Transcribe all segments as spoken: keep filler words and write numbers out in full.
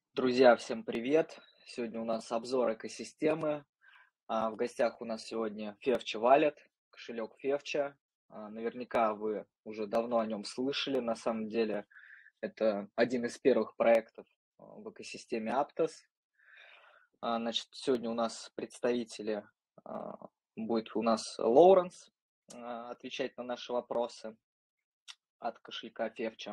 Друзья, всем привет! Сегодня у нас обзор экосистемы. А, В гостях у нас сегодня Fevcha Wallet, кошелек Fevcha. А, Наверняка вы уже давно о нем слышали. На самом деле это один из первых проектов а, в экосистеме Aptos. А, Значит, сегодня у нас представители, а, будет у нас Лоуренс а, отвечать на наши вопросы от кошелька Fevcha.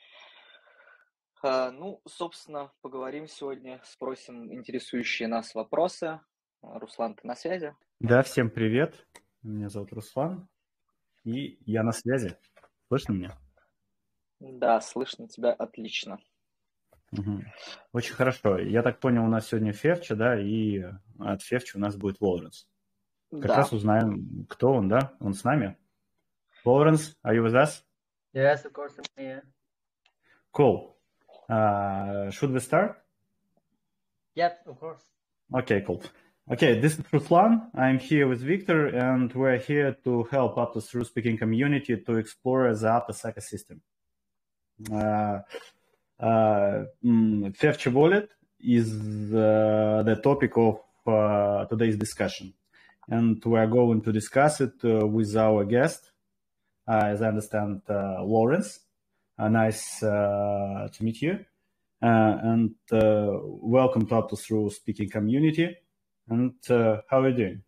А, Ну, собственно, поговорим сегодня, спросим интересующие нас вопросы. А, Руслан, ты на связи? Да, всем привет. Меня зовут Руслан, и я на связи. Слышно меня? Да, слышно тебя отлично. Мгм. Очень хорошо. Я так понял, у нас сегодня Февча, да, и от Февча у нас будет Лоуренс. Как раз Да, узнаем, кто он, да? Он с нами. Лоуренс, are you with us? Yes, of course, I'm here. Cool. Uh, should we start? Yep, of course. Okay, cool. Okay, this is Ruslan. I'm here with Victor, and we're here to help Aptos through speaking community to explore the Aptos ecosystem. Uh, uh, mm, Fevcha Wallet is uh, the topic of uh, today's discussion, and we are going to discuss it uh, with our guest, uh, as I understand, uh, Lawrence. Uh, nice uh, to meet you, uh, and uh, welcome to Aptos through speaking community. And uh, how are you doing?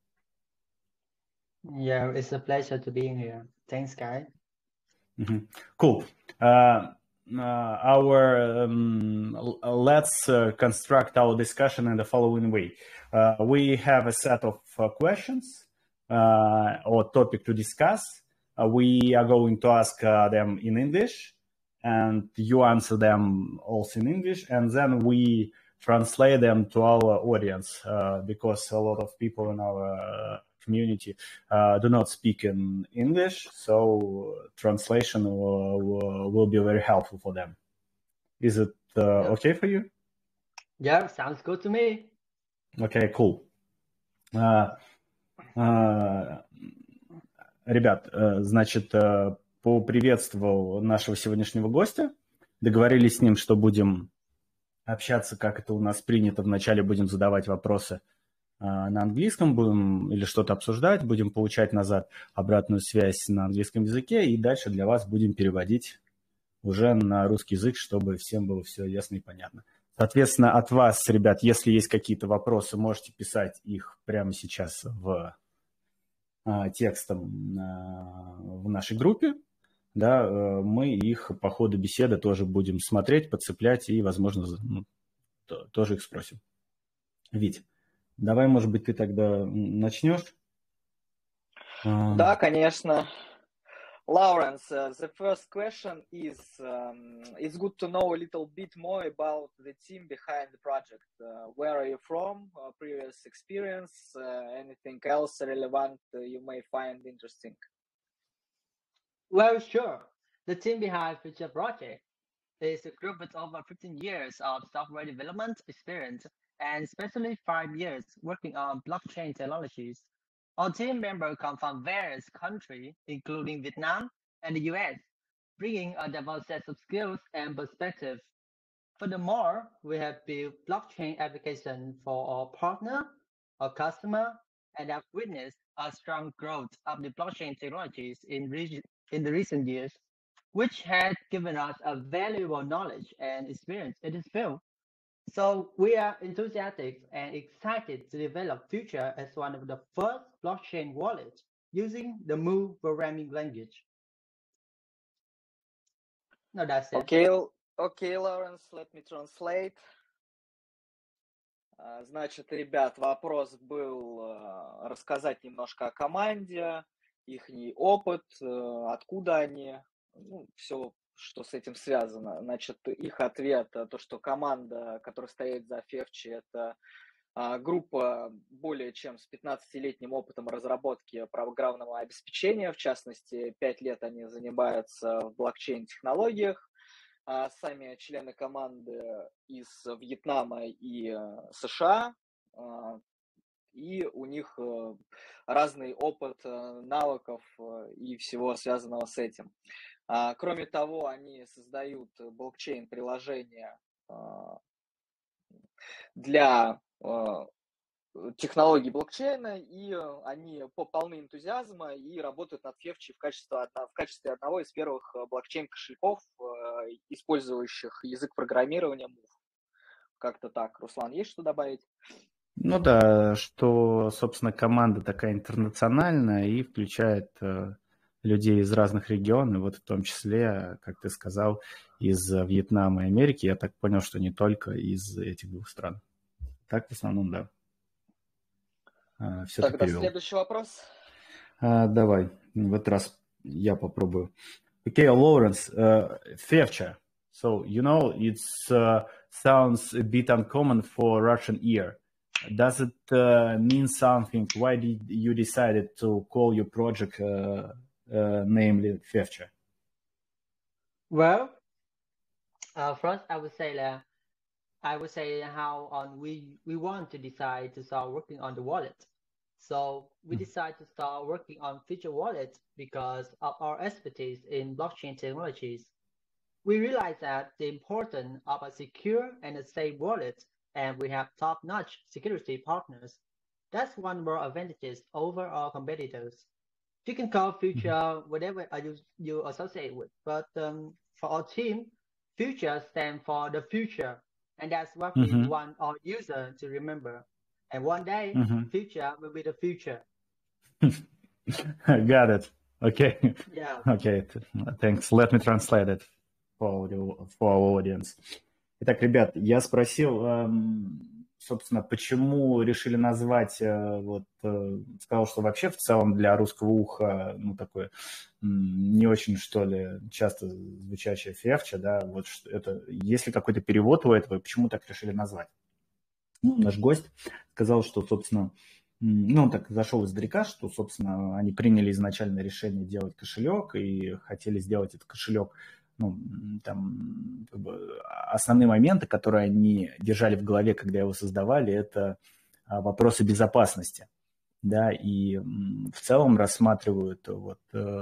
Yeah, it's a pleasure to be here. Thanks, guys. Mhm. Cool. Uh, uh, our um, l- let's uh, construct our discussion in the following way. Uh, we have a set of uh, questions uh, or topic to discuss. Uh, we are going to ask uh, them in English, and you answer them also in English, and then we translate them to our audience uh, because a lot of people in our uh, community uh, do not speak in English, so translation will, will, will be very helpful for them. Is it uh, Yep. okay for you? Yeah, sounds good to me. Okay, cool. Uh, uh, ребят, uh, значит, uh, поприветствовал нашего сегодняшнего гостя. Договорились с ним, что будем общаться, как это у нас принято. Вначале будем задавать вопросы на английском, будем или что-то обсуждать, будем получать назад обратную связь на английском языке, и дальше для вас будем переводить уже на русский язык, чтобы всем было все ясно и понятно. Соответственно, от вас, ребят, если есть какие-то вопросы, можете писать их прямо сейчас в а, текстом а, в нашей группе. Да, мы их по ходу беседы тоже будем смотреть, подцеплять и, возможно, ну, то, тоже их спросим. Вить, давай, может быть, ты тогда начнешь? да, конечно. Lawrence, uh, the first question is, um, it's good to know a little bit more about the team behind the project. Uh, where are you from? Uh, previous experience? Uh, anything else relevant uh, you may find interesting? Well, sure. The team behind Future Project is a group with over fifteen years of software development experience and especially five years working on blockchain technologies. Our team members come from various countries, including Vietnam and the U S, bringing a diverse set of skills and perspectives. Furthermore, we have built blockchain applications for our partner, our customer, and have witnessed a strong growth of the blockchain technologies in, reg- in the recent years, which has given us a valuable knowledge and experience in this field. So we are enthusiastic and excited to develop Future as one of the first blockchain wallets using the Move programming language. No, that's it. Okay, okay, Lawrence, let me translate. А, Значит, ребят, вопрос был а, рассказать немножко о команде, их опыт, э, откуда они, ну, все, что с этим связано. Значит, их ответ, э, то, что команда, которая стоит за Февчи, это а, группа более чем с пятнадцатилетним опытом разработки программного обеспечения. В частности, пять лет они занимаются в блокчейн-технологиях. А сами члены команды из Вьетнама и э, США, а, и у них э, разный опыт э, навыков э, и всего связанного с этим. А, Кроме того, они создают блокчейн-приложения, а, для технологий блокчейна, и они полны энтузиазма и работают над Февчей в качестве, в качестве одного из первых блокчейн-кошельков, использующих язык программирования мув. Как-то так. Руслан, есть что добавить? Ну да, что, собственно, команда такая интернациональная и включает э, людей из разных регионов, вот в том числе, как ты сказал, из Вьетнама и Америки. Я так понял, что не только из этих двух стран. Так, в основном, да. А, все ты Тогда перевел. следующий вопрос. А, давай, в этот раз я попробую. Okay, Lawrence, uh, Fevcha. So, you know, it uh, sounds a bit uncommon for Russian ear. Does it uh, mean something? Why did you decided to call your project uh, uh, namely Fevcha? Well, uh, first I would say that I would say how on we we want to decide to start working on the wallet. So we decided to start working on Future Wallet because of our expertise in blockchain technologies. We realize that the importance of a secure and a safe wallet, and we have top-notch security partners. That's one of our advantages over our competitors. You can call Future whatever you, you associate with, but um, for our team, Future stands for the future, and that's what we Mm-hmm. want our user to remember. And one day, Mm-hmm. Future will be the future. Got it. Okay. Yeah. Okay. Thanks. Let me translate it for, for our audience. Итак, ребят, я спросил, собственно, почему решили назвать, вот, сказал, что вообще в целом для русского уха, ну, такое не очень, что ли, часто звучащее Февча, да, вот это, есть ли какой-то перевод у этого, почему так решили назвать? Ну, наш гость сказал, что, собственно, ну, он так зашел издалека, что, собственно, они приняли изначально решение делать кошелек и хотели сделать этот кошелек, ну, там, как бы, основные моменты, которые они держали в голове, когда его создавали, это вопросы безопасности, да, и в целом рассматривают вот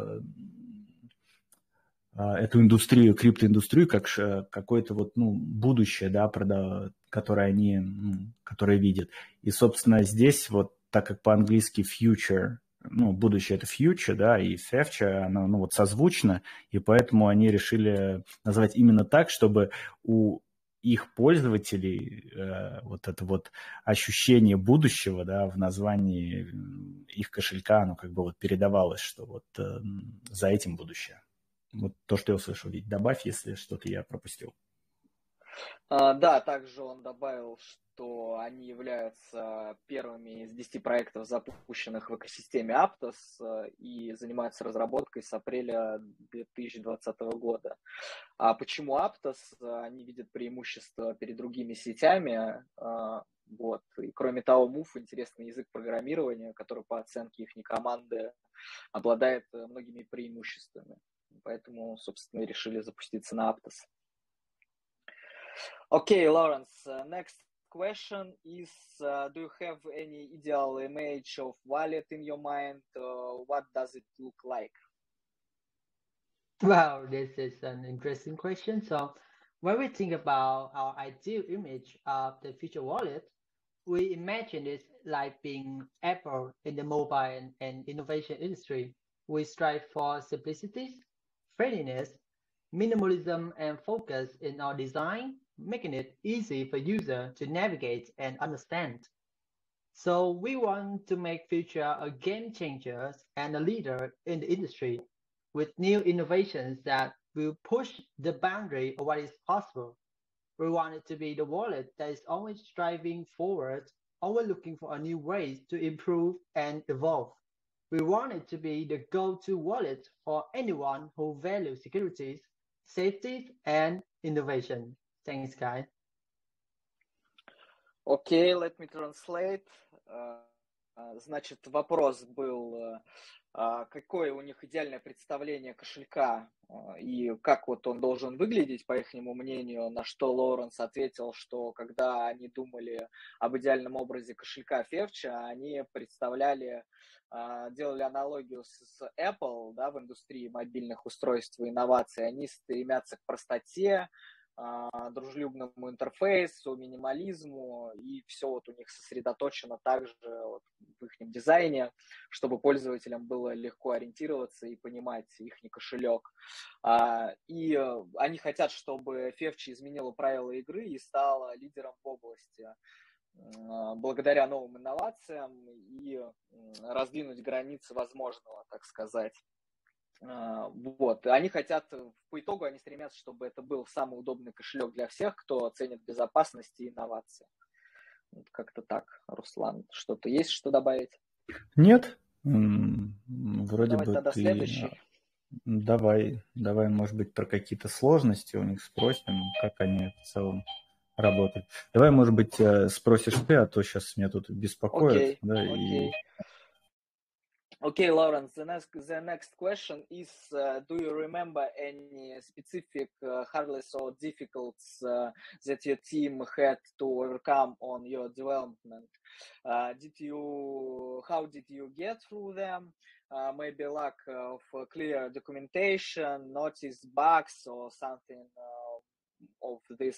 эту индустрию, криптоиндустрию, как какое-то вот, ну, будущее, да, которое они, ну, которое видят. И, собственно, здесь вот, так как по-английски future, ну, будущее это future, да, и Fevcha, оно, ну, вот созвучно, и поэтому они решили назвать именно так, чтобы у их пользователей э, вот это вот ощущение будущего, да, в названии их кошелька, оно как бы вот передавалось, что вот э, за этим будущее. Вот то, что я услышал. Ведь добавь, если что-то я пропустил. А, да, также он добавил, что они являются первыми из десяти проектов, запущенных в экосистеме Aptos, и занимаются разработкой с апреля две тысячи двадцатого года. А почему Aptos? Они видят преимущество перед другими сетями. Вот. И кроме того, мув — интересный язык программирования, который по оценке их команды обладает многими преимуществами. Поэтому, собственно, и решили запуститься на Aptos. Okay, Lawrence, uh, next question is, uh, do you have any ideal image of wallet in your mind? Uh, what does it look like? Wow, this is an interesting question. So when we think about our ideal image of the future wallet, we imagine it like being Apple in the mobile and, and innovation industry. We strive for simplicity, friendliness, minimalism, and focus in our design, making it easy for user to navigate and understand. So we want to make Future a game changer and a leader in the industry with new innovations that will push the boundary of what is possible. We want it to be the wallet that is always striving forward, always looking for a new ways to improve and evolve. We want it to be the go-to wallet for anyone who values security, safety, and innovation. Thanks, guys. Okay, let me translate. Значит, вопрос был, какое у них идеальное представление кошелька и как вот он должен выглядеть, по их мнению, на что Лоуренс ответил, что когда они думали об идеальном образе кошелька Fevcha, они представляли, делали аналогию с Apple, да, в индустрии мобильных устройств и инноваций. Они стремятся к простоте, дружелюбному интерфейсу, минимализму, и все вот у них сосредоточено также вот в их дизайне, чтобы пользователям было легко ориентироваться и понимать их кошелек. И они хотят, чтобы Февчи изменила правила игры и стала лидером в области благодаря новым инновациям и раздвинуть границы возможного, так сказать. Вот. Они хотят, по итогу они стремятся, чтобы это был самый удобный кошелек для всех, кто ценит безопасность и инновации. Вот как-то так, Руслан. Что-то есть, что добавить? Нет. Вроде Давай бы тогда ты... следующий. Давай, давай, может быть, про какие-то сложности у них спросим, как они в целом работают. Давай, может быть, спросишь ты, а то сейчас меня тут беспокоят. Окей, да, окей. И... Okay, Lawrence, the next, the next question is, uh, do you remember any specific uh, hurdles or difficulties uh, that your team had to overcome on your development? Uh, did you, how did you get through them? Uh, maybe lack of uh, clear documentation, notice bugs or something uh, of this?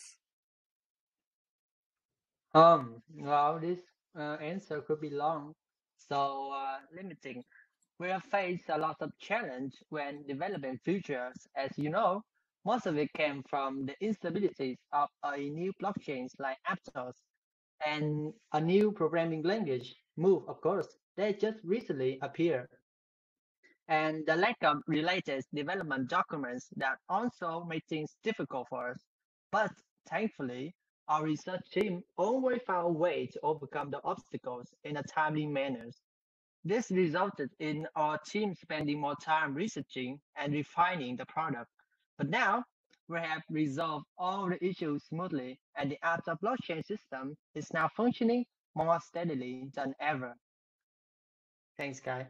Um, well, this uh, answer could be long, so uh, limiting. We have faced a lot of challenge when developing features. As you know, most of it came from the instabilities of a new blockchains like Aptos and a new programming language, Move, of course, that just recently appeared. And the lack of related development documents that also made things difficult for us. But thankfully, our research team always found a way to overcome the obstacles in a timely manner. This resulted in our team spending more time researching and refining the product. But now we have resolved all the issues smoothly, and the Aptos blockchain system is now functioning more steadily than ever. Thanks, Guy.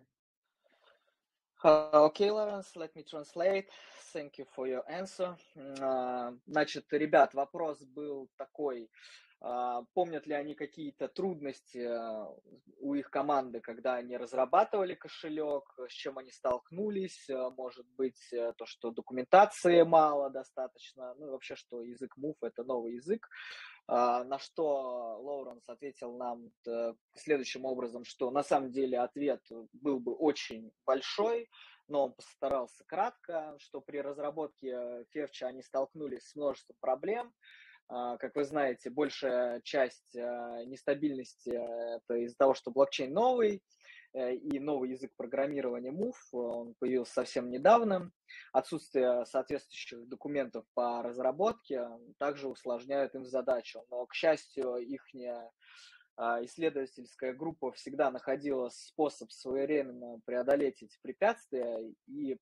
Uh, okay, Lawrence, let me translate. Thank you for your answer. Uh, значит, ребят, вопрос был такой. Uh, помнят ли они какие-то трудности uh, у их команды, когда они разрабатывали кошелек, с чем они столкнулись? Uh, может быть, uh, то, что документации мало достаточно, ну и вообще, что язык Move — это новый язык. Uh, на что Лоуренс ответил нам uh, следующим образом, что на самом деле ответ был бы очень большой, но он постарался кратко, что при разработке Февча они столкнулись с множеством проблем. Uh, как вы знаете, большая часть uh, нестабильности uh, это из-за того, что блокчейн новый, и новый язык программирования Move, он появился совсем недавно. Отсутствие соответствующих документов по разработке также усложняет им задачу. Но, к счастью, их исследовательская группа всегда находила способ своевременно преодолеть эти препятствия, и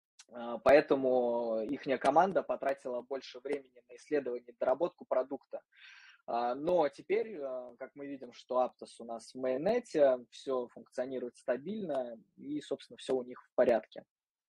поэтому их команда потратила больше времени на исследование и доработку продукта. Но теперь, как мы видим, что Aptos у нас в мейннете, все функционирует стабильно и, собственно, все у них в порядке.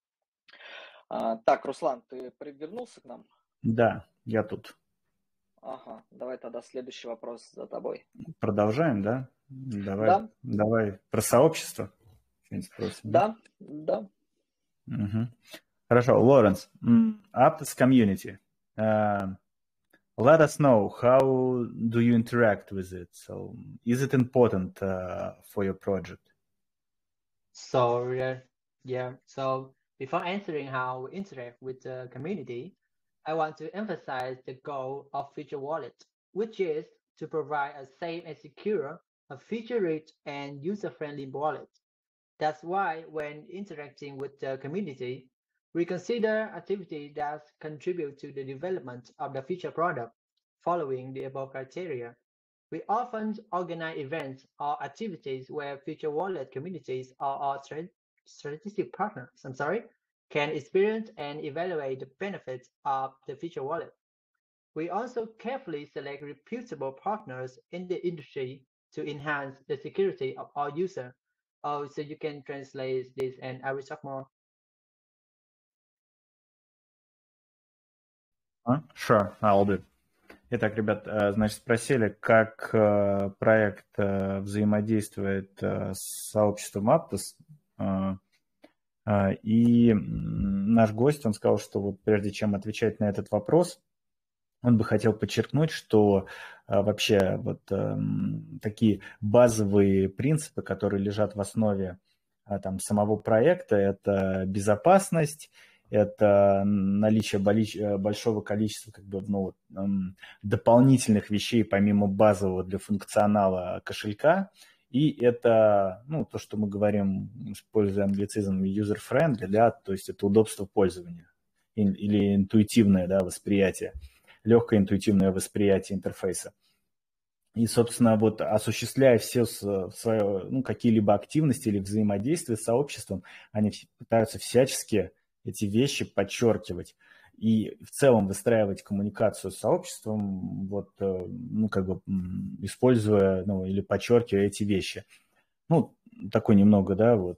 Так, Руслан, ты вернулся к нам? Да, я тут. Ага, давай тогда следующий вопрос за тобой. Продолжаем, да? Давай, да. Давай про сообщество. Что-нибудь спросим. Да, да. Угу. Хорошо, Лоренс, Aptos community. Uh, let us know, how do you interact with it? So, is it important uh, for your project? So, yeah, yeah. So, before answering how we interact with the community, I want to emphasize the goal of Future Wallet, which is to provide a safe and secure, a feature-rich and user-friendly wallet. That's why when interacting with the community, we consider activities that contribute to the development of the future product, following the above criteria. We often organize events or activities where Future Wallet communities or our strategic partners, I'm sorry, can experience and evaluate the benefits of the Future Wallet. We also carefully select reputable partners in the industry to enhance the security of our users. Oh, so you can translate this and I will talk more. Uh, sure, I'll do. Итак, ребят, значит, спросили, как проект взаимодействует с сообществом Aptos. И наш гость, он сказал, что вот прежде чем отвечать на этот вопрос, он бы хотел подчеркнуть, что а, вообще вот а, такие базовые принципы, которые лежат в основе а, там, самого проекта, это безопасность, это наличие большого количества как бы, ну, дополнительных вещей помимо базового для функционала кошелька, и это, ну, то, что мы говорим, используя англицизм user-friendly, да, то есть это удобство пользования или интуитивное, да, восприятие, легкое интуитивное восприятие интерфейса. И, собственно, вот осуществляя все свои, ну, какие-либо активности или взаимодействия с сообществом, они пытаются всячески эти вещи подчеркивать. И в целом выстраивать коммуникацию с сообществом, вот, ну, как бы используя, ну, или подчеркивая эти вещи. Ну, такой немного, да, вот.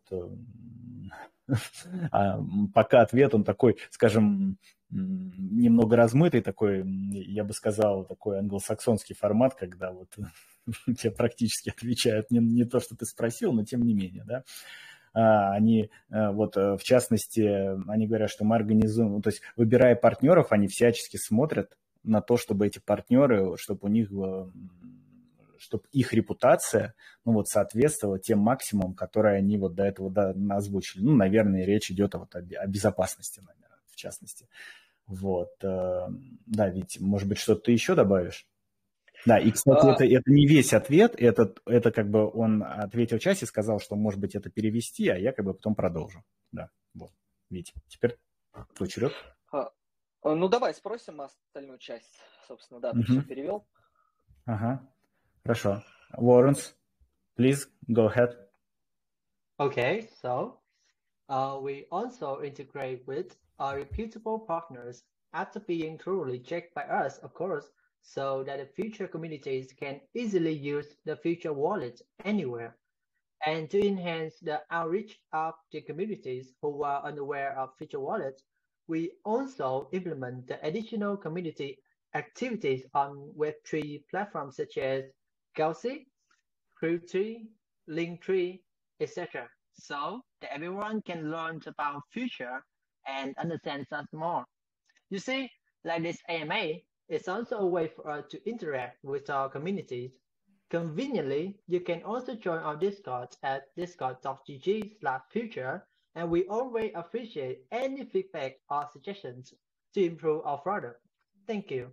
А пока ответ, он такой, скажем, немного размытый, такой, я бы сказал, такой англосаксонский формат, когда вот тебе практически отвечают не, не то, что ты спросил, но тем не менее, да. Они, вот, в частности, они говорят, что мы организуем, то есть, выбирая партнеров, они всячески смотрят на то, чтобы эти партнеры, чтобы у них, чтобы их репутация, ну, вот, соответствовала тем максимумам, которые они вот до этого да, озвучили. Ну, наверное, речь идет вот о, о безопасности, наверное, в частности. Вот, да, ведь, может быть, что-то ты еще добавишь? Да, и, кстати, а... это, это не весь ответ, это, это как бы он ответил часть и сказал, что, может быть, это перевести, а я как бы потом продолжу. Да, вот, Вить, теперь твой черед. А, ну, давай спросим остальную часть, собственно, да, ты uh-huh. все перевел. Ага, хорошо. Lawrence, please, go ahead. Okay, so uh, we also integrate with our reputable partners after being thoroughly checked by us, of course, so that the future communities can easily use the future wallet anywhere. And to enhance the outreach of the communities who are unaware of future wallets, we also implement the additional community activities on Web three platforms such as Galaxy, CrewTree, Linktree, et cetera. So that everyone can learn about future and understand us more. You see, like this A M A is also a way for us to interact with our communities. Conveniently, you can also join our Discord at discord.gg slash future, and we always appreciate any feedback or suggestions to improve our product. Thank you.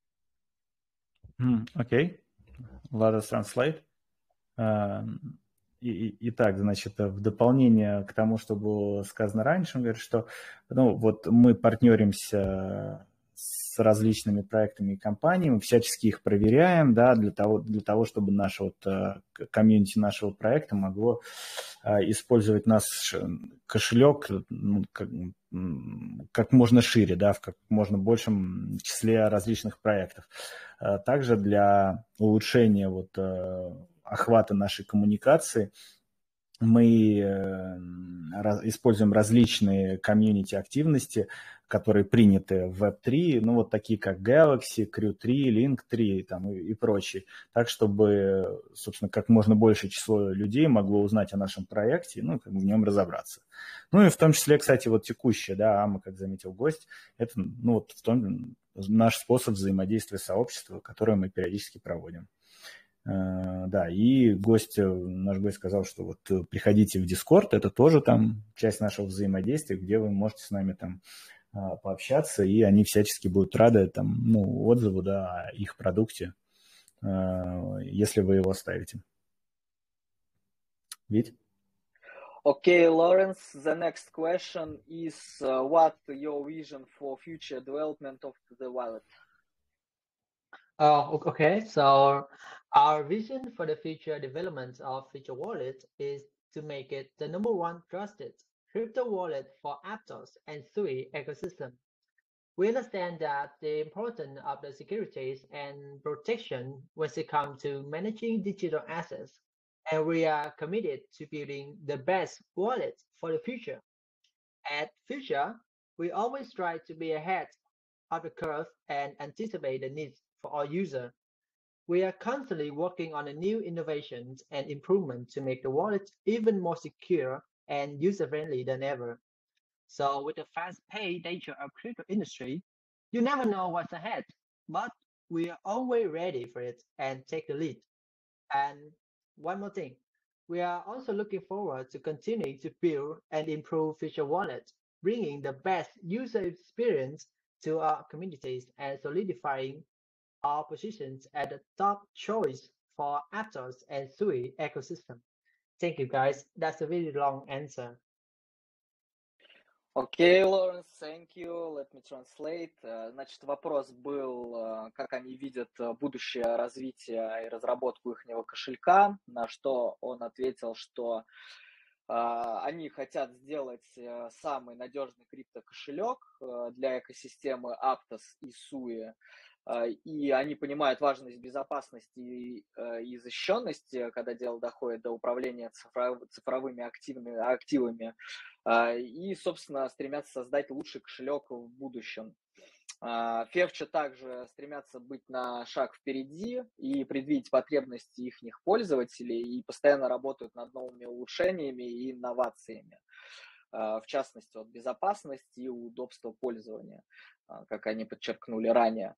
Mm, okay, let us translate. Uh, и, итак, значит, в дополнение к тому, что было сказано раньше, он говорит, что ну, вот мы партнеримся с различными проектами и компаниями, всячески их проверяем, да, для того, для того, чтобы наше вот комьюнити нашего проекта могло использовать наш кошелек ну, как, как можно шире, да, в как можно большем числе различных проектов. Также для улучшения вот охвата нашей коммуникации мы используем различные комьюнити-активности, которые приняты в веб три, ну вот такие как Galaxy, CrewTree, Linktree там, и, и прочие, так чтобы, собственно, как можно большее число людей могло узнать о нашем проекте, ну, как бы в нем разобраться. Ну и в том числе, кстати, вот текущее, да, АМА, как заметил гость, это, ну, вот в том наш способ взаимодействия сообщества, который мы периодически проводим. Да, и гость, наш гость сказал, что вот приходите в Discord, это тоже там часть нашего взаимодействия, где вы можете с нами там пообщаться, и они всячески будут рады там, ну, отзыву, да, о их продукте, если вы его оставите. Вить? Okay, Lawrence, the next question is uh, what your vision for future development of the wallet? Oh, okay. So our vision for the future development of Future Wallet is to make it the number one trusted crypto wallet for Aptos and Sui ecosystem. We understand that the importance of the securities and protection when it comes to managing digital assets, and we are committed to building the best wallet for the future. At Future, we always try to be ahead of the curve and anticipate the needs for our user. We are constantly working on the new innovations and improvements to make the wallet even more secure and user-friendly than ever. So with the fast-paced nature of crypto industry, you never know what's ahead. but we are always ready for it and take the lead. And one more thing, we are also looking forward to continuing to build and improve Future Wallet, bringing the best user experience to our communities and solidifying our positions as the top choice for Aptos and Sui ecosystem. Thank you guys. That's a really long answer. Окей, Лоренс, thank you. Let me translate. Э, Значит, вопрос был, э, как они видят э, будущее развитие и разработку их кошелька, на что он ответил, что а, они хотят сделать э, самый надежный криптокошелек э, для экосистемы Aptos и Sui. Э, И они понимают важность безопасности и, э, и защищенности, когда дело доходит до управления цифров- цифровыми активными, активами. А, И, собственно, стремятся создать лучший кошелек в будущем. Февча также стремятся быть на шаг впереди и предвидеть потребности их пользователей и постоянно работают над новыми улучшениями и инновациями. В частности, вот, безопасность и удобство пользования, как они подчеркнули ранее.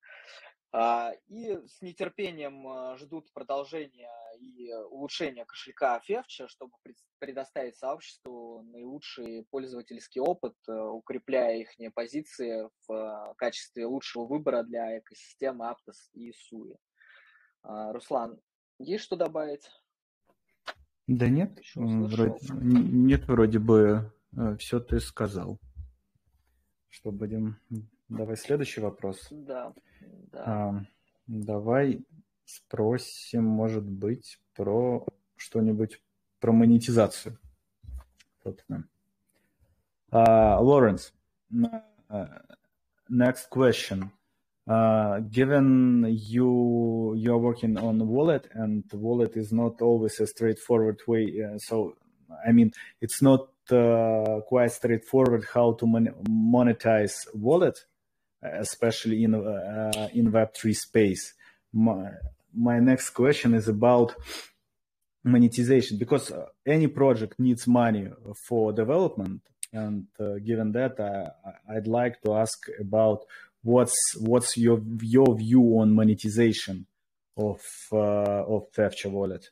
И с нетерпением ждут продолжения и улучшения кошелька Февча, чтобы предоставить сообществу наилучший пользовательский опыт, укрепляя их позиции в качестве лучшего выбора для экосистемы Aptos и Sui. Руслан, есть что добавить? Да нет, Еще вроде, услышал. нет, вроде бы все ты сказал. Что будем... Давай следующий вопрос. Да, да. А, давай спросим, может быть, про что-нибудь про монетизацию. Собственно. Uh, Lawrence, uh, next question. Uh, given you you are working on wallet, and wallet is not always a straightforward way. Uh, so, I mean, it's not uh, quite straightforward how to mon- monetize wallet, especially in uh, in Web three space. My, my next question is about monetization, because any project needs money for development, and uh, given that, I, I'd like to ask about what's what's your your view on monetization of uh, of Fevcha wallet.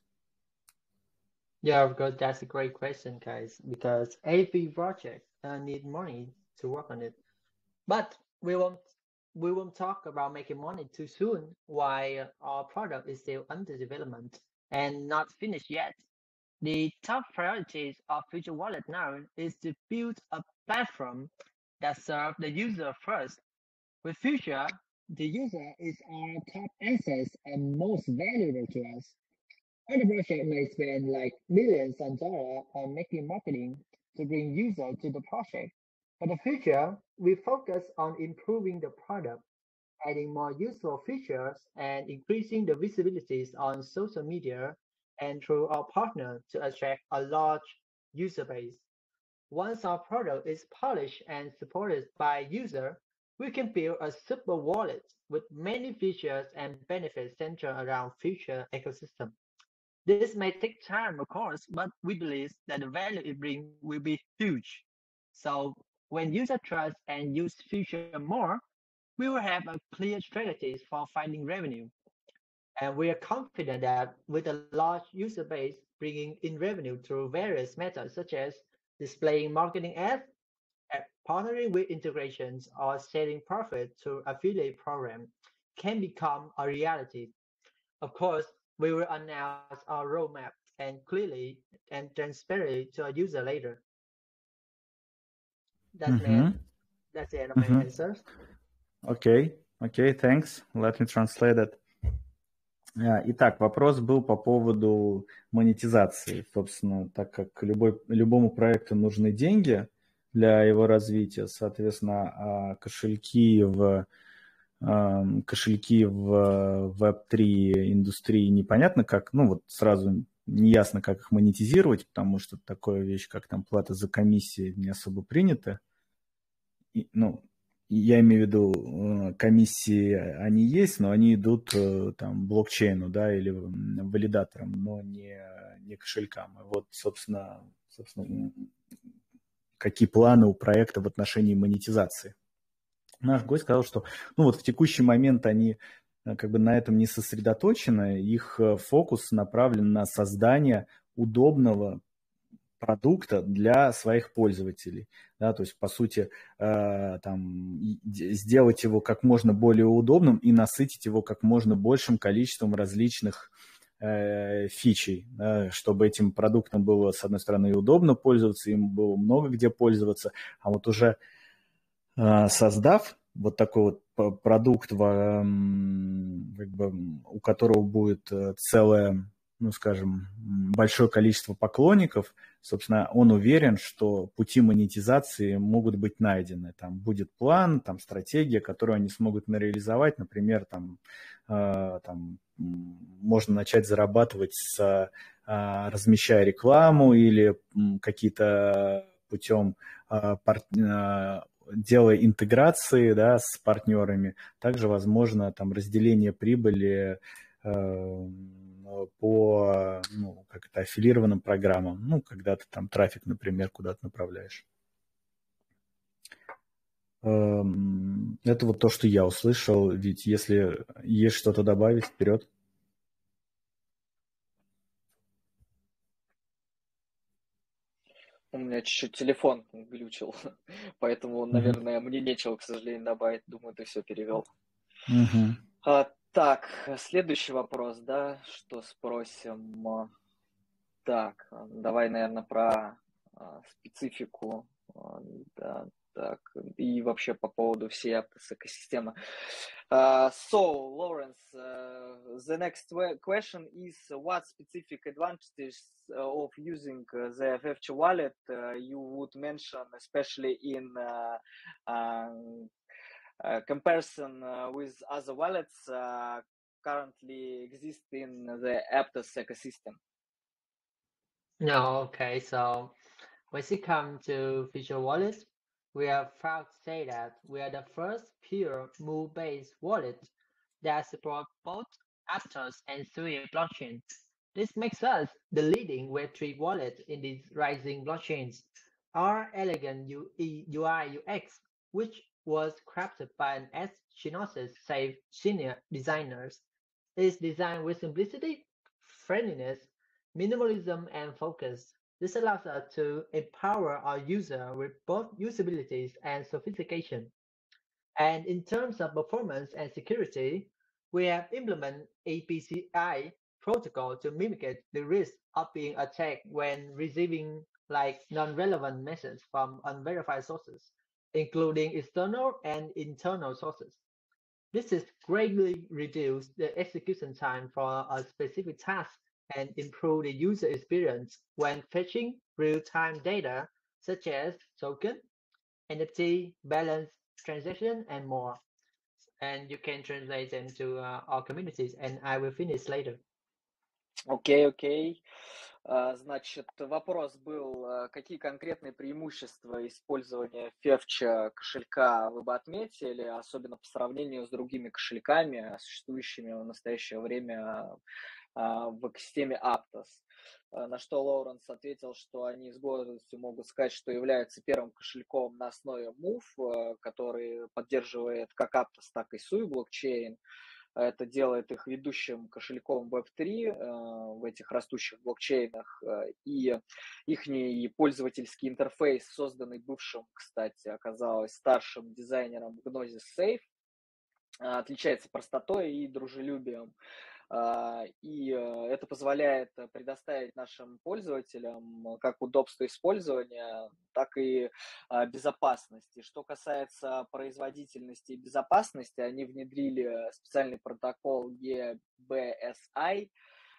Yeah, of course, that's a great question, guys, because every project uh, need money to work on it. But we won't we won't talk about making money too soon while our product is still under development and not finished yet. The top priorities of Future Wallet now is to build a platform that serves the user first. With Future, the user is our top asset and most valuable to us. Other projects may spend like millions of dollars on making marketing to bring users to the project. For the future, we focus on improving the product, adding more useful features, and increasing the visibilities on social media and through our partner to attract a large user base. Once our product is polished and supported by user, we can build a super wallet with many features and benefits centered around future ecosystem. This may take time, of course, but we believe that the value it brings will be huge. So when users trust and use Future more, we will have a clear strategies for finding revenue. And we are confident that with a large user base bringing in revenue through various methods such as displaying marketing ads, partnering with integrations, or selling profit through affiliate program can become a reality. Of course, we will announce our roadmap and clearly and transparently to our user later. That's, Mm-hmm. my, that's the end of my Mm-hmm. answers. Okay, okay, thanks. Let me translate it. Итак, вопрос был по поводу монетизации. Собственно, так как любой, любому проекту нужны деньги для его развития, соответственно, кошельки в кошельки в веб три индустрии непонятно как, ну вот сразу неясно, как их монетизировать, потому что такая вещь, как там плата за комиссии, не особо принята. И, ну, я имею в виду, комиссии, они есть, но они идут там блокчейну, да, или валидаторам, но не, не кошелькам. И вот, собственно, собственно, какие планы у проекта в отношении монетизации? наш гость сказал, что ну, вот в текущий момент они как бы на этом не сосредоточены, их фокус направлен на создание удобного продукта для своих пользователей. Да, то есть, по сути, э, там, сделать его как можно более удобным и насытить его как можно большим количеством различных э, фичей, да, чтобы этим продуктом было, с одной стороны, и удобно пользоваться, им было много где пользоваться, а вот уже э, создав вот такой вот продукт, в, как бы, у которого будет целое, ну, скажем, большое количество поклонников, собственно, он уверен, что пути монетизации могут быть найдены. Там будет план, там стратегия, которую они смогут реализовать. Например, там, э, там можно начать зарабатывать, с, э, размещая рекламу или какие-то путем э, пар, э, делая интеграции, да, с партнерами. Также возможно там разделение прибыли э, по, ну, как это, аффилированным программам, ну, когда ты там трафик, например, куда-то направляешь. Это вот то, что я услышал, ведь если есть что-то добавить, вперед. У меня чуть-чуть телефон глючил, поэтому, наверное, мне нечего, к сожалению, добавить. Думаю, ты все перевел. Uh-huh. А, так, следующий вопрос, да, что спросим? Так, давай, наверное, про а, специфику, а, да, так, и вообще по поводу всей Aptos экосистемы. Uh, so, Lawrence, uh, the next question is what specific advantages of using uh, the F F T wallet uh, you would mention, especially in uh, um, uh, comparison uh, with other wallets uh, currently exist in the Aptos ecosystem? No, okay. So when it comes to Future Wallet, we are proud to say that we are the first pure Mu-based wallet that supports both Aptos and Sui blockchains. This makes us the leading Web three wallet in these rising blockchains. Our elegant U I U X, which was crafted by an S. Chinosis safe senior designers, is designed with simplicity, friendliness, minimalism, and focus. This allows us to empower our user with both usabilities and sophistication. And in terms of performance and security, we have implemented A P C I protocol to mitigate the risk of being attacked when receiving like non-relevant messages from unverified sources, including external and internal sources. This has greatly reduced the execution time for a specific task and improve the user experience when fetching real-time data such as token, N F T, balance, transaction, and more. And you can translate them to uh, our communities, and I will finish later. Окей, okay, окей. Okay. Uh, значит, вопрос был, uh, какие конкретные преимущества использования Февча кошелька вы бы отметили, особенно по сравнению с другими кошельками, существующими в настоящее время uh, в экосистеме Aptos. Uh, на что Лоуренс ответил, что они с гордостью могут сказать, что являются первым кошельком на основе Move, uh, который поддерживает как Aptos, так и Sui блокчейн. Это делает их ведущим кошельком веб три э, в этих растущих блокчейнах. Э, и их пользовательский интерфейс, созданный бывшим, кстати, оказалось старшим дизайнером Gnosis Safe, э, отличается простотой и дружелюбием. И это позволяет предоставить нашим пользователям как удобство использования, так и безопасности. Что касается производительности и безопасности, они внедрили специальный протокол и би эс ай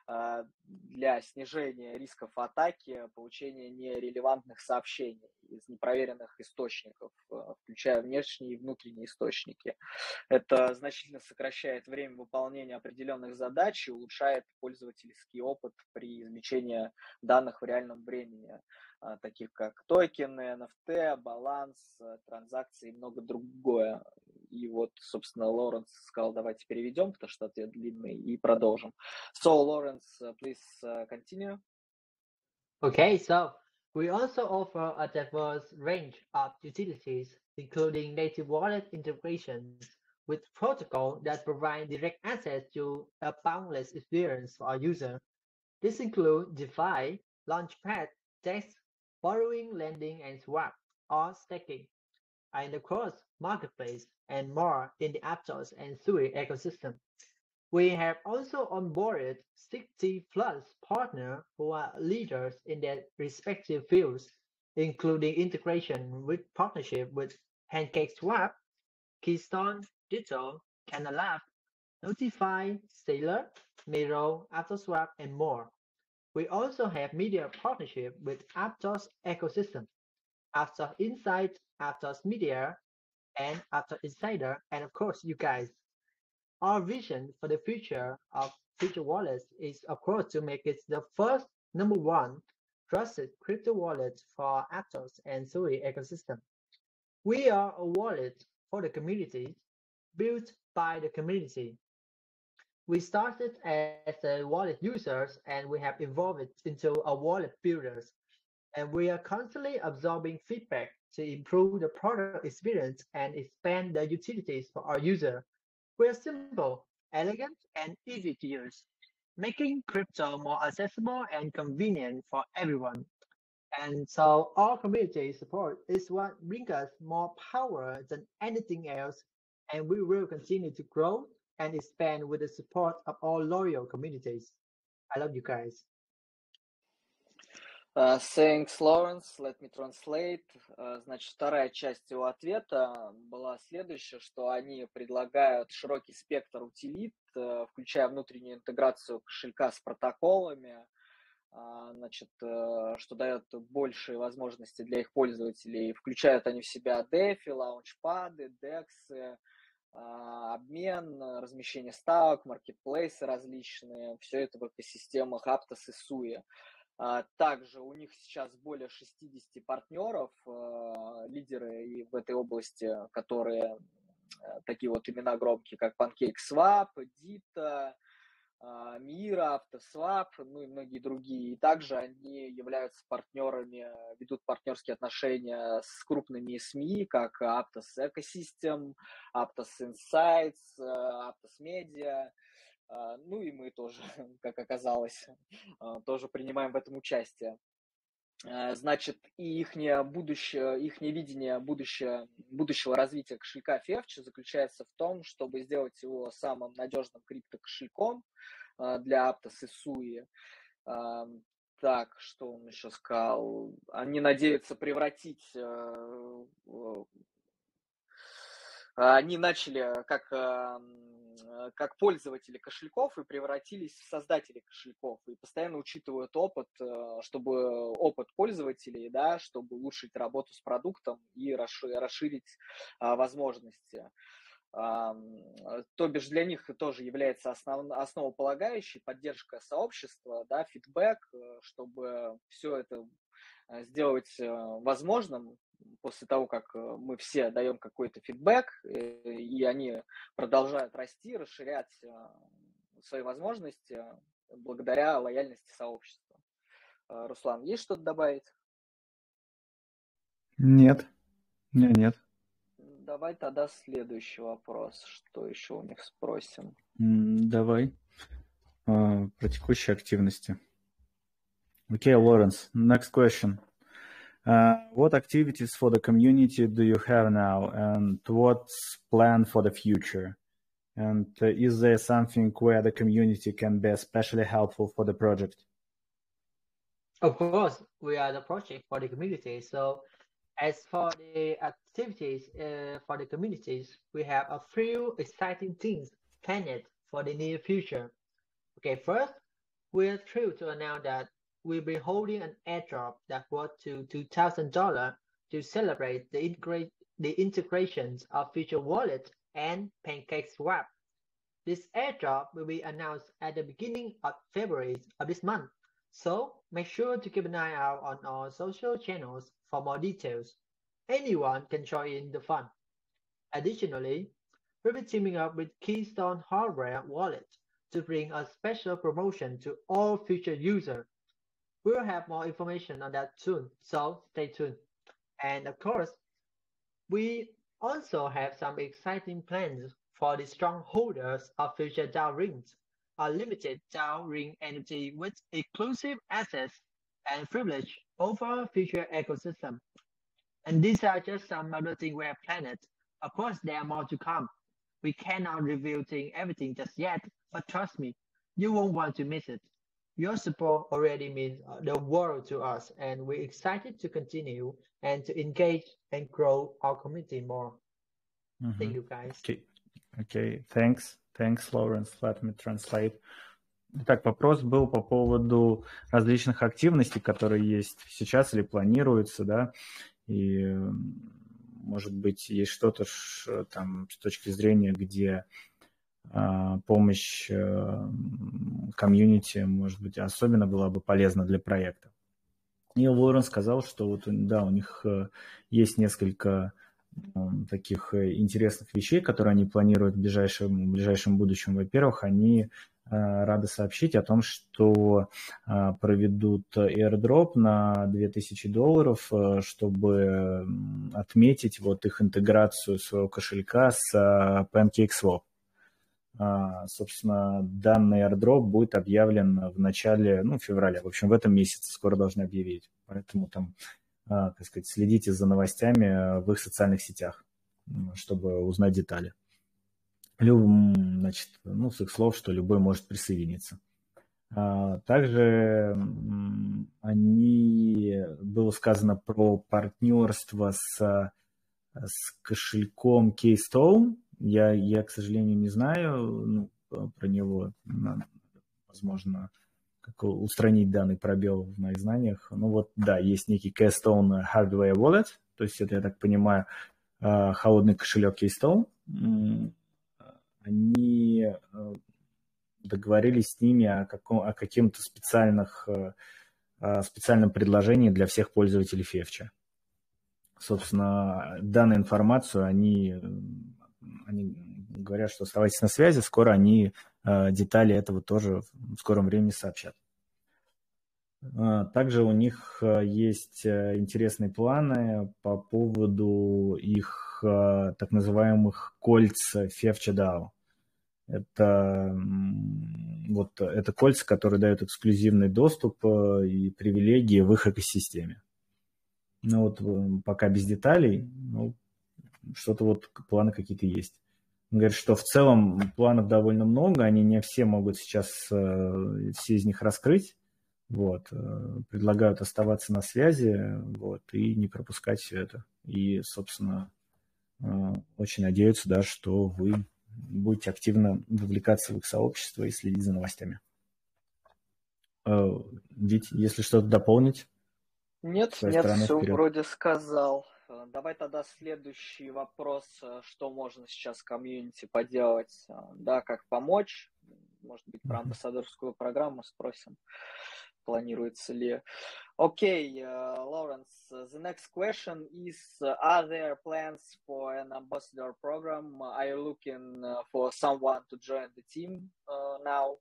для снижения рисков атаки, получения нерелевантных сообщений из непроверенных источников, включая внешние и внутренние источники. Это значительно сокращает время выполнения определенных задач и улучшает пользовательский опыт при извлечении данных в реальном времени, таких как токены, эн эф ти, баланс, транзакции и много другое. И вот, собственно, Лоренс сказал, давайте переведем, потому что ответ длинный, и продолжим. So, Lawrence, uh, please uh, continue. Okay, so we also offer a diverse range of utilities including native wallet integrations with protocols that provide direct access to a boundless experience for our user. This includes DeFi, Launchpad, Dex, borrowing, lending, and swap, or staking, and of course, marketplace, and more in the Aptos and Sui ecosystem. We have also onboarded sixty plus partners who are leaders in their respective fields, including integration with partnership with PancakeSwap, Keystone, Ditto, Canalab, Notify, Sailor, Miro, AptosSwap, and more. We also have media partnership with Aptos ecosystem, Aptos Insight, Aptos Media, and Aptos Insider, and of course, you guys. Our vision for the future of future wallets is, of course, to make it the first number one trusted crypto wallet for Aptos and Sui ecosystem. We are a wallet for the community, built by the community. We started as a wallet users and we have evolved into a wallet builders. And we are constantly absorbing feedback to improve the product experience and expand the utilities for our user. We are simple, elegant, and easy to use, making crypto more accessible and convenient for everyone. And so our community support is what brings us more power than anything else, and we will continue to grow and expand with the support of all loyal communities. I love you guys. Uh, thanks, Lawrence. Let me translate. Uh, значит, вторая часть его ответа была следующая, что они предлагают широкий спектр утилит, uh, включая внутреннюю интеграцию кошелька с протоколами, uh, значит, uh, что дает большие возможности для их пользователей. Включают они в себя DeFi, лаунчпады, дексы, uh, обмен, размещение ставок, маркетплейсы различные. Все это в экосистемах Aptos и Sui. Также у них сейчас более шестьдесят партнеров, лидеры и в этой области, которые такие вот имена громкие, как PancakeSwap, Ditto, Mira, AptosSwap, ну и многие другие. И также они являются партнерами, ведут партнерские отношения с крупными СМИ, как Aptos Ecosystem, Aptos Insights, Aptos Media. Ну и мы тоже, как оказалось, тоже принимаем в этом участие. Значит, и их будущее, их видение будущее, будущего развития кошелька Fetch заключается в том, чтобы сделать его самым надежным криптокошельком для Aptos и Sui. Так, что он еще сказал? Они надеются превратить... Они начали как... как пользователи кошельков и превратились в создателей кошельков и постоянно учитывают опыт, чтобы опыт пользователей, да, чтобы улучшить работу с продуктом и расширить возможности. То бишь для них тоже является основ, основополагающей поддержка сообщества, да, фидбэк, чтобы все это сделать возможным. После того, как мы все даем какой-то фидбэк, и они продолжают расти, расширять свои возможности благодаря лояльности сообщества. Руслан, есть что-то добавить? Нет, нет, нет. Давай тогда следующий вопрос. Что еще у них спросим? Давай. Про текущие активности. Okay, Lawrence, next question. Uh, what activities for the community do you have now, and what's planned for the future? And uh, is there something where the community can be especially helpful for the project? Of course, we are the project for the community. So as for the activities uh, for the communities, we have a few exciting things planned for the near future. Okay, first, we're thrilled to announce that we'll be holding an airdrop that worth to two thousand dollars to celebrate the, integrate, the integrations of Future Wallet and PancakeSwap. This airdrop will be announced at the beginning of February of this month, so make sure to keep an eye out on our social channels for more details. Anyone can join in the fun. Additionally, we'll be teaming up with Keystone Hardware Wallet to bring a special promotion to all future users. We'll have more information on that soon, so stay tuned. And of course, we also have some exciting plans for the strongholders of future DAO rings, unlimited DAO ring energy with exclusive access and privilege over future ecosystem. And these are just some other things we have planned. Of course, there are more to come. We cannot reveal thing, everything just yet, but trust me, you won't want to miss it. Your support already means uh, the world to us, and we're excited to continue and to engage and grow our community more. Мгм. Thank you, guys. Окей, окей, thanks, thanks, Lawrence, let me translate. Итак, вопрос был по поводу различных активностей, которые есть сейчас или планируются, да, и, м, может быть, есть что-то ш- там с точки зрения, где а, помощь а, комьюнити, может быть, особенно была бы полезна для проекта. И Лорен сказал, что вот, да, у них э, есть несколько э, таких э, интересных вещей, которые они планируют в ближайшем, в ближайшем будущем. Во-первых, они э, рады сообщить о том, что э, проведут airdrop на две тысячи долларов, э, чтобы м, отметить вот их интеграцию своего кошелька с э, PancakeSwap. А, собственно, данный airdrop будет объявлен в начале, ну, февраля. В общем, в этом месяце скоро должны объявить. Поэтому там, а, так сказать, следите за новостями в их социальных сетях, м, чтобы узнать детали. Люб, значит, ну, с их слов, что любой может присоединиться. А, Также м, они, было сказано про партнерство с, с кошельком Keystone. Я, я, к сожалению, не знаю ну, про него. Надо, возможно, как устранить данный пробел в моих знаниях. Ну вот, да, есть некий Keystone Hardware Wallet. То есть это, я так понимаю, холодный кошелек Keystone. Они договорились с ними о, каком, о каким-то специальных, специальном предложении для всех пользователей Февча. Собственно, данную информацию они, они говорят, что оставайтесь на связи, скоро они э, детали этого тоже в скором времени сообщат. Также у них есть интересные планы по поводу их э, так называемых кольц Февча дао. Это, вот, это кольца, которые дают эксклюзивный доступ и привилегии в их экосистеме. Ну вот пока без деталей, ну, что-то вот планы какие-то есть. Он говорит, что в целом планов довольно много, они не все могут сейчас э, все из них раскрыть. Вот. Э, предлагают оставаться на связи вот, и не пропускать все это. И, собственно, э, очень надеются, да, что вы будете активно вовлекаться в их сообщество и следить за новостями. Э, Вить, если что-то дополнить? Нет, нет, стороны, все вперед. вроде сказал. Давай тогда следующий вопрос, что можно сейчас комьюнити поделать, да, как помочь, может быть, про амбассадорскую программу спросим, планируется ли. Okay, uh, Lawrence, the next question is, uh, are there plans for an ambassador program? Are you looking uh, for someone to join the team uh, now?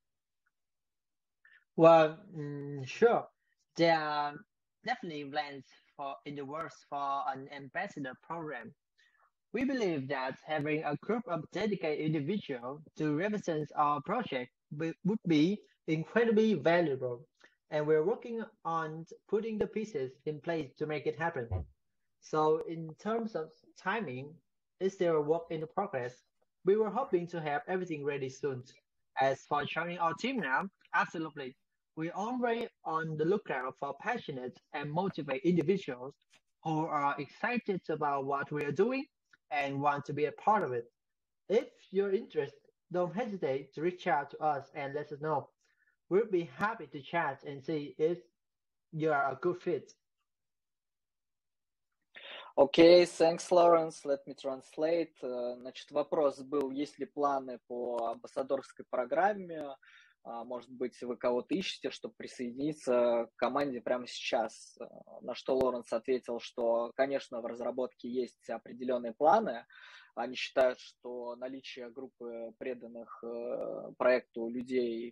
Well, mm, sure. There are definitely plans for in the works for an ambassador program. We believe that having a group of dedicated individuals to represent our project would be incredibly valuable, and we're working on putting the pieces in place to make it happen. So, in terms of timing, is still a work in progress. We were hoping to have everything ready soon. As for joining our team now, absolutely. We're already on the lookout for passionate and motivated individuals who are excited about what we are doing and want to be a part of it. If you're interested, don't hesitate to reach out to us and let us know. We'll be happy to chat and see if you are a good fit. Окей, okay, thanks, Lawrence. Let me translate. Значит, вопрос был, есть ли планы по амбассадорской программе? Может быть, вы кого-то ищете, чтобы присоединиться к команде прямо сейчас? На что Лоренс ответил, что, конечно, в разработке есть определенные планы. Они считают, что наличие группы преданных проекту людей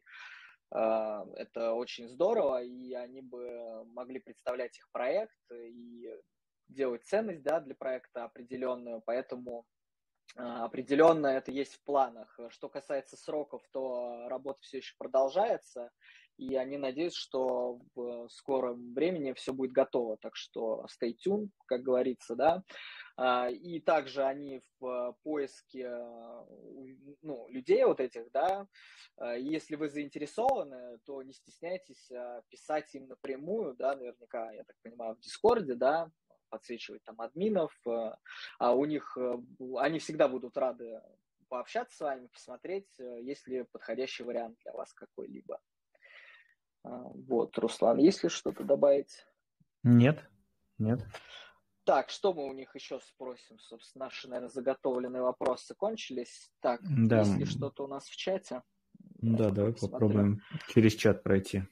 это очень здорово, и они бы могли представлять их проект и делать ценность, да, для проекта определенную, поэтому определенно это есть в планах. Что касается сроков, то работа все еще продолжается, и они надеются, что в скором времени все будет готово. Так что stay tuned, как говорится, да. И также они в поиске, ну, людей вот этих, да. Если вы заинтересованы, то не стесняйтесь писать им напрямую, да, наверняка, я так понимаю, в Дискорде, да, подсвечивать там админов, а у них, они всегда будут рады пообщаться с вами, посмотреть, есть ли подходящий вариант для вас какой-либо. Вот, Руслан, есть ли что-то добавить? Нет, нет. Так, что мы у них еще спросим? Собственно, наши, наверное, заготовленные вопросы кончились. Так, да. Есть ли что-то у нас в чате? Да, давай попробуем через чат пройти.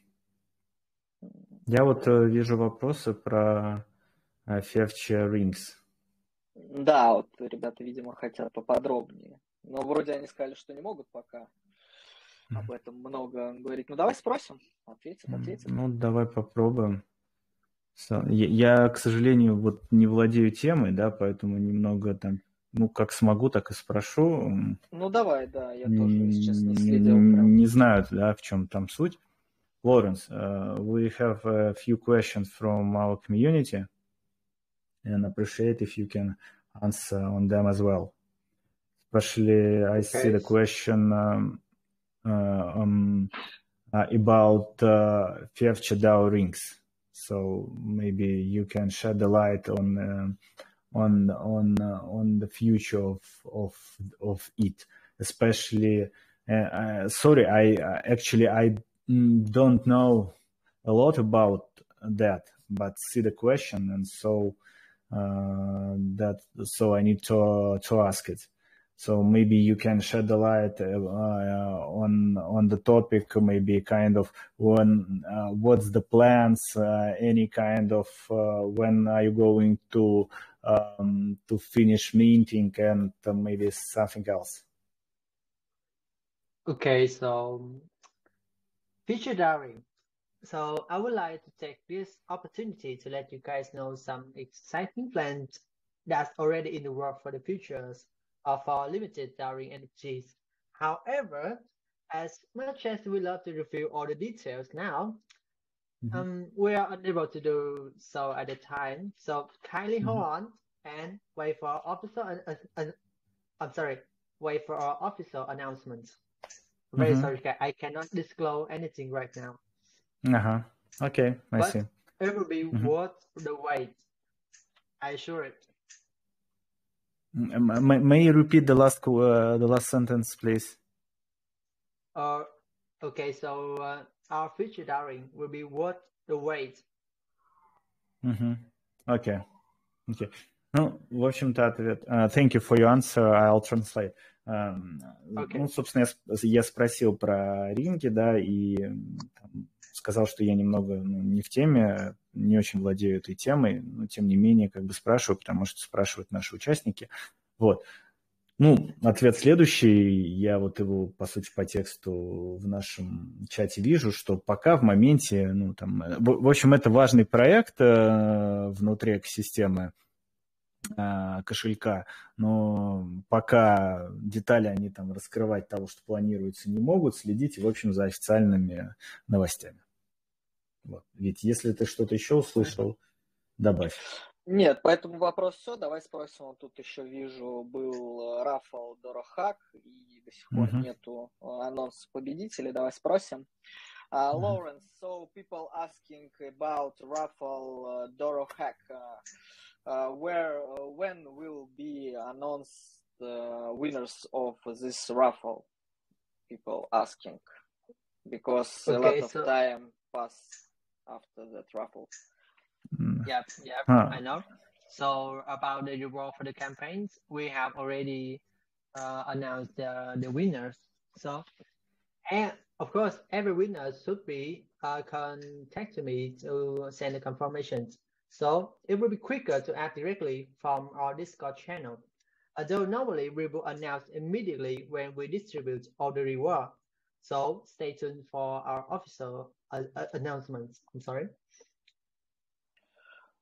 Я вот э, вижу вопросы про Future Rings. Да, вот ребята, видимо, хотят поподробнее. Но вроде они сказали, что не могут пока об этом много говорить. Ну, давай спросим. Ответят, ответят. Ну, давай попробуем. Я, я, к сожалению, вот не владею темой, да, поэтому немного там, ну, как смогу, так и спрошу. Ну, давай, да, я тоже, если честно, не следил. Прям. Не знаю, да, в чем там суть. Lawrence, uh, we have a few questions from our community and appreciate if you can answer on them as well. Especially, I okay. see the question um, uh, um, uh, about uh, future DAO rings. So maybe you can shed the light on uh, on on uh, on the future of of of it. Especially, uh, uh, sorry, I uh, actually I don't know a lot about that, but see the question, and so uh, that so I need to to ask it. So maybe you can shed the light uh, on on the topic. Maybe kind of when uh, what's the plans? Uh, any kind of uh, when are you going to um, to finish minting, and uh, maybe something else. Okay, so future DAOing. So I would like to take this opportunity to let you guys know some exciting plans that's already in the work for the futures of our limited DAOing N F Ts. However, as much as we love to reveal all the details now, mm-hmm. um, we are unable to do so at the time. So kindly mm-hmm. hold on and wait for our official. Uh, uh, I'm sorry, wait for our official announcements. I'm very mm-hmm. sorry, I cannot disclose anything right now. Uh-huh. Okay, I but see. It will be mm-hmm. worth the wait. I assure it. May, may you repeat the last uh, the last sentence, please? Uh, okay, so uh, our future DAOing will be worth the wait. Mm-hmm. Okay. Okay. Ну, в общем-то, ответ. Uh, thank you for your answer. I'll translate. Um, okay. Ну, собственно, я, я спросил про ринги, да, и там, сказал, что я немного ну, не в теме, не очень владею этой темой, но тем не менее как бы спрашиваю, потому что спрашивают наши участники. Вот. Ну, ответ следующий. Я вот его, по сути, по тексту в нашем чате вижу, что пока в моменте, ну, там, в, в общем, это важный проект э, внутри экосистемы э, кошелька, но пока детали они там раскрывать того, что планируется, не могут, следите, в общем, за официальными новостями. Вот. Ведь если ты что-то еще услышал, добавь. Нет, по этому вопросу все. Давай спросим. Вот тут еще вижу, был Рафал Дорохак, и до сих пор uh-huh. нету анонса победителей. Давай спросим. Uh, uh-huh. Lawrence, so people asking about Raffle uh, Dorohak. Uh, uh, where, uh, when will be announced the uh, winners of this raffle? People asking. Because okay, a lot so... of time passed after that raffle. Yep, yep, huh. I know. So about the reward for the campaigns, we have already uh, announced the, the winners. So, and of course, every winner should be uh, contact me to send the confirmations. So it will be quicker to act directly from our Discord channel. Although normally we will announce immediately when we distribute all the reward. So stay tuned for our official uh, announcements. I'm sorry.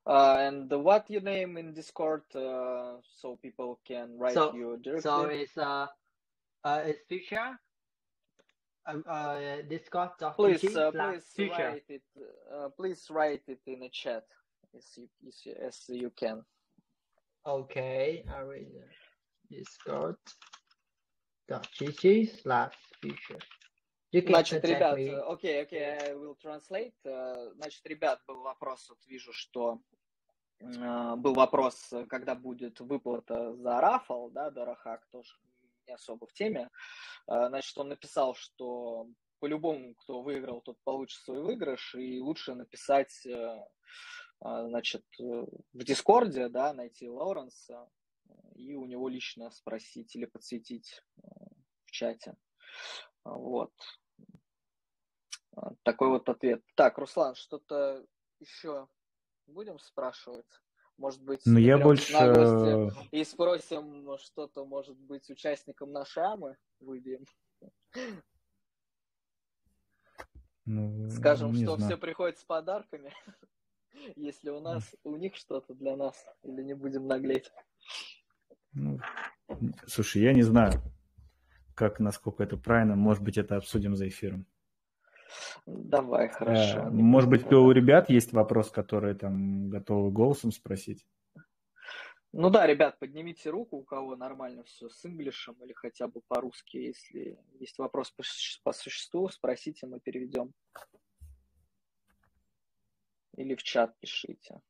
Uh, and what your name in Discord, uh, so people can write So you directly? so it's uh uh it's future uh, uh Please, discord.gg uh, slash please future. write it. Uh, please write it in the chat as you as you, as you can. Okay, I will discord.gg slash future. You can Значит, contact ребят, me. окей, окей, I will translate. Uh, Значит, ребят, был вопрос, вот вижу, что uh, был вопрос, когда будет выплата за рафл, да, Дорохак тоже не особо в теме. Uh, Значит, он написал, что по-любому, кто выиграл, тот получит свой выигрыш, и лучше написать, uh, uh, значит, в Дискорде, да, найти Лоуренса и у него лично спросить или подсветить uh, в чате. Вот. Такой вот ответ. Так, Руслан, что-то еще будем спрашивать? Может быть, Ну, я наберем больше... наглости и спросим что-то, может быть, участникам нашей АМы выбьем. Ну, Скажем, не что знаю. все приходят с подарками, если у нас, у них что-то для нас, или не будем наглеть. Ну, слушай, я не знаю, как, насколько это правильно. Может быть, это обсудим за эфиром. Давай, хорошо. Э, не может будем быть, у тогда. ребят есть вопрос, который там готовы голосом спросить? Ну да, ребят, поднимите руку, у кого нормально все с инглишем или хотя бы по-русски. Если есть вопрос по, суще- по существу, спросите, мы переведем. Или в чат пишите.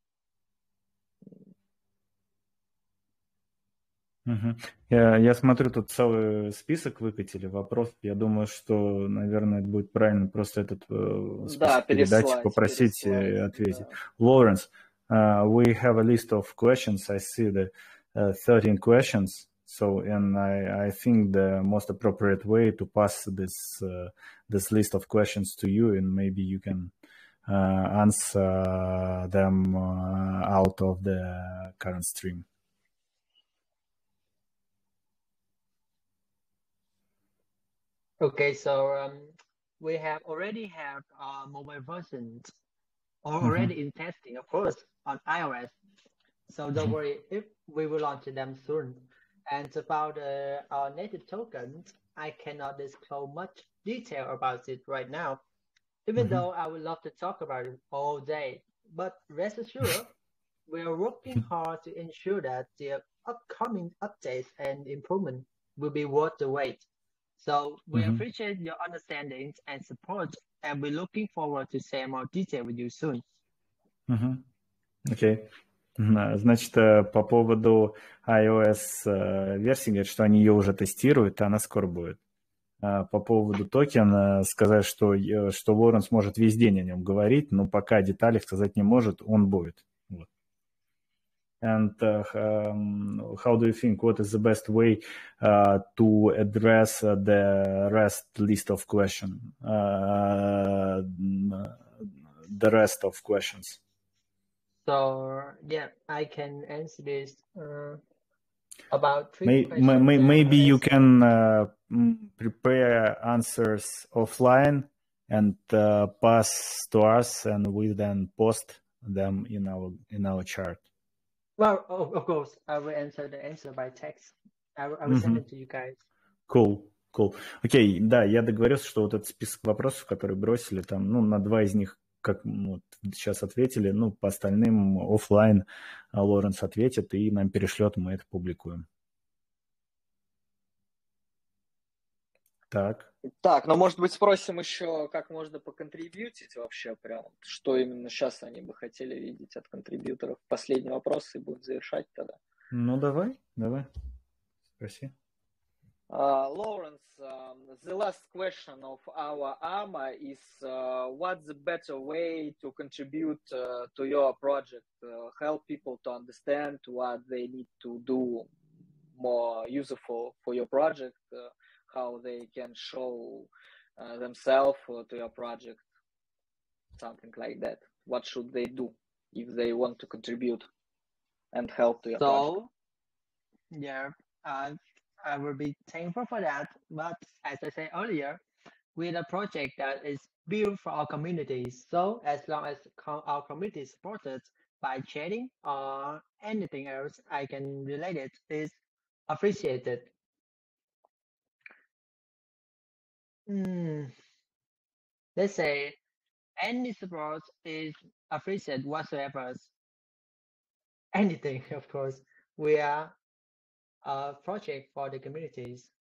Мгм. Я, я смотрю, тут целый список выкатили вопросов. Я думаю, что, наверное, это будет правильно просто этот э, Да, список передать и переслать, попросить э, переслать. ответить. Да. Lawrence, uh, we have a list of questions. I see the uh, thirteen questions. So, and I, I think the most appropriate way to pass this uh, this list of questions to you, and maybe you can uh, answer them uh, out of the current stream. Okay, so um, we have already have uh, mobile versions or Mhm. already in testing, of course, on iOS. So don't Mhm. worry, if we will launch them soon. And about uh, our native tokens, I cannot disclose much detail about it right now, even Mhm. though I would love to talk about it all day. But rest assured, we are working hard to ensure that the upcoming updates and improvement will be worth the wait. So we Mhm. appreciate your understanding and support, and we're looking forward to share more detail with you soon. Мгм. Окей. М, Значит, э, по поводу iOS э, версии, говорят, что они ее уже тестируют, и она скоро будет. А по поводу токена сказать, что, э, что Лоренс может весь день о нем говорить, но пока детали сказать не может, он будет. Вот. And uh, um, how do you think, what is the best way uh, to address uh, the rest list of questions? Uh, the rest of questions. So yeah, I can answer this uh, about three May, questions. may, that maybe were you asked. can uh, mm, prepare answers offline and uh, pass to us, and we then post them in our in our chart. Well, of, of course, I will answer the answer by text. I will, I will send Мгм. it to you guys. Cool, cool. Окей, да, я договорился, что вот этот список вопросов, которые бросили, там, ну, на два из них, как ну, вот сейчас ответили, ну, по остальным оффлайн а, Лоренс ответит и нам перешлет, мы это публикуем. Так. Так, ну, может быть, спросим еще, как можно поконтрибьютить вообще прям, что именно сейчас они бы хотели видеть от контрибьюторов. Последний вопрос и будем завершать тогда. Ну, давай, давай, спроси. Uh, Lawrence, um, the last question of our A M A is uh, what's the better way to contribute uh, to your project, uh, help people to understand what they need to do more useful for your project, uh, how they can show uh, themselves uh, to your project, something like that. What should they do if they want to contribute and help to your project? So yeah, uh, I will be thankful for that. But as I said earlier, we're a project that is built for our communities. So as long as co- our community is supported, by chatting or anything else I can relate it is appreciated. Hmm, let's say any support is appreciated whatsoever. Anything, of course. We are a project for the communities.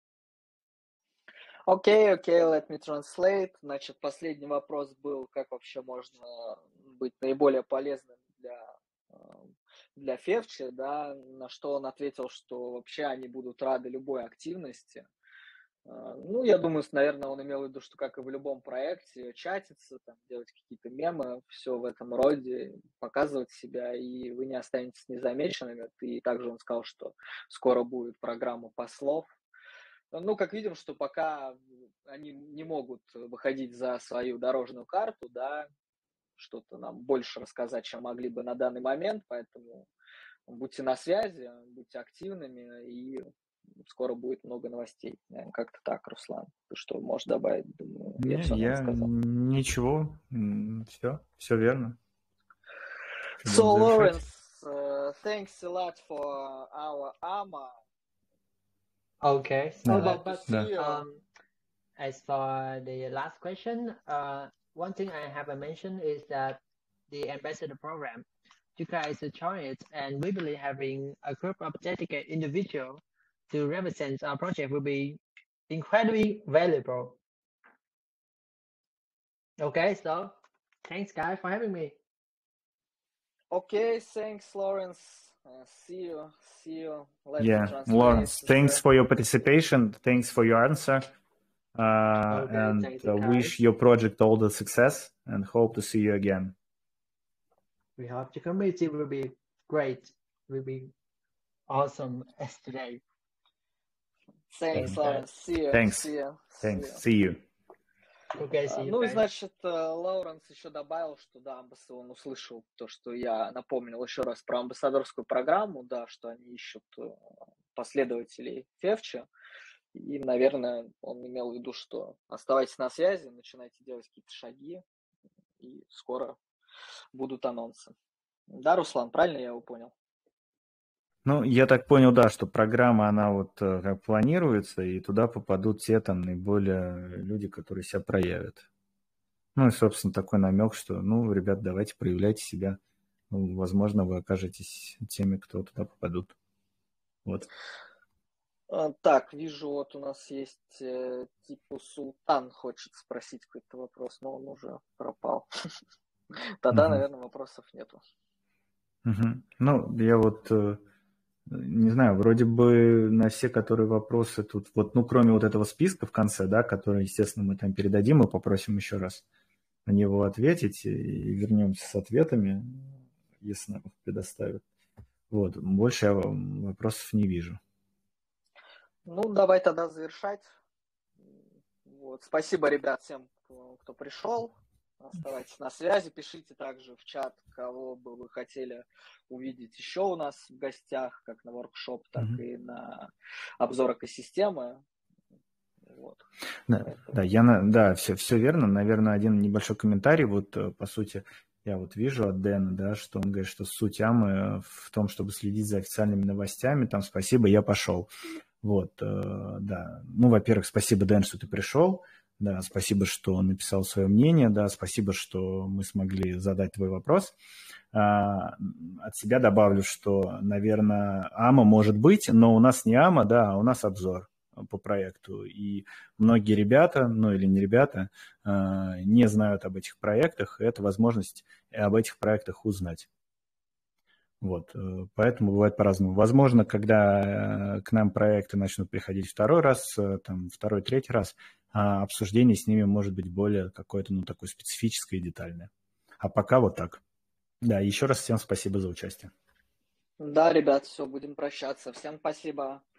Окей, окей, let me translate. Значит, последний вопрос был, как вообще можно быть наиболее полезным для, э, для Февчи, да, на что он ответил, что вообще они будут рады любой активности. Э, Ну, я думаю, с- наверное, он имел в виду, что как и в любом проекте, чатиться, там, делать какие-то мемы, все в этом роде, показывать себя, и вы не останетесь незамеченными. И также он сказал, что скоро будет программа послов. Ну, как видим, что пока они не могут выходить за свою дорожную карту, да, что-то нам больше рассказать, чем могли бы на данный момент, поэтому будьте на связи, будьте активными, и скоро будет много новостей. Наверное, как-то так, Руслан. Ты что можешь добавить? Думаю, я Не, все, наверное, я сказал. ничего, все, все верно. Что, So, будем завершать? Lawrence, uh, thanks a lot for our AMA. Okay, so Да, Glad to but see да. you. um, as for the last question, uh, one thing I haven't mentioned is that the ambassador program, you guys join it, and we believe having a group of dedicated individuals to represent our project will be incredibly valuable. Okay, so thanks guys for having me. Okay, thanks, Lawrence. Uh, see you. See you. Let me Yeah, translate Lawrence, thanks the. for your participation. Thanks for your answer. Uh, Okay, and thank you uh, wish guys. your project all the success and hope to see you again. We hope the community will be great, will be awesome as today. Thanks, Thanks, guys. Lawrence. See you. Thanks. See you. Thanks. See you. See you. Okay, А, see you Ну и guys. значит, э, Лауренс еще добавил, что да, амбасс- он услышал то, что я напомнил еще раз про амбассадорскую программу, да, что они ищут э, последователей Февча. И, наверное, он имел в виду, что оставайтесь на связи, начинайте делать какие-то шаги, и скоро будут анонсы. Да, Руслан, правильно я его понял? Ну, я так понял, да, что программа, она вот э, как планируется, и туда попадут те там наиболее люди, которые себя проявят. Ну и, собственно, такой намек, что, ну, ребят, давайте проявляйте себя. Ну, возможно, вы окажетесь теми, кто туда попадут. Вот. А, Так, вижу, вот у нас есть э, типа Султан хочет спросить какой-то вопрос, но он уже пропал. Тогда, Мгм. наверное, вопросов нету. Мгм. Ну, я вот э, не знаю, вроде бы на все, которые вопросы тут, вот, ну, кроме вот этого списка в конце, да, который, естественно, мы там передадим и попросим еще раз на него ответить, и вернемся с ответами, если нам их предоставят. Вот, больше я вопросов не вижу. Ну, давай тогда завершать. Вот. Спасибо, ребят, всем, кто, кто пришел. Оставайтесь на связи, пишите также в чат, кого бы вы хотели увидеть еще у нас в гостях, как на воркшоп, так Мгм. и на обзор экосистемы. Вот. Да, Поэтому- да, я на, да, все, все верно. Наверное, один небольшой комментарий. Вот, э, по сути, я вот вижу от Дэна, да, что он говорит, что суть Амы в том, чтобы следить за официальными новостями. Там спасибо, я пошел. Вот, э, да. Ну, во-первых, спасибо, Дэн, что ты пришел. Да, спасибо, что написал свое мнение. Да, спасибо, что мы смогли задать твой вопрос. А, от себя добавлю, что, наверное, Ама может быть, но у нас не Ама, да, а у нас обзор по проекту. И многие ребята, ну или не ребята, а, не знают об этих проектах, и это возможность об этих проектах узнать. Вот, э, поэтому бывает по-разному. Возможно, когда э, к нам проекты начнут приходить второй раз, э, там, второй, третий раз, а обсуждение с ними может быть более какое-то, ну, такое специфическое и детальное. А пока вот так. Да, еще раз всем спасибо за участие. Да, ребят, все, будем прощаться. Всем спасибо.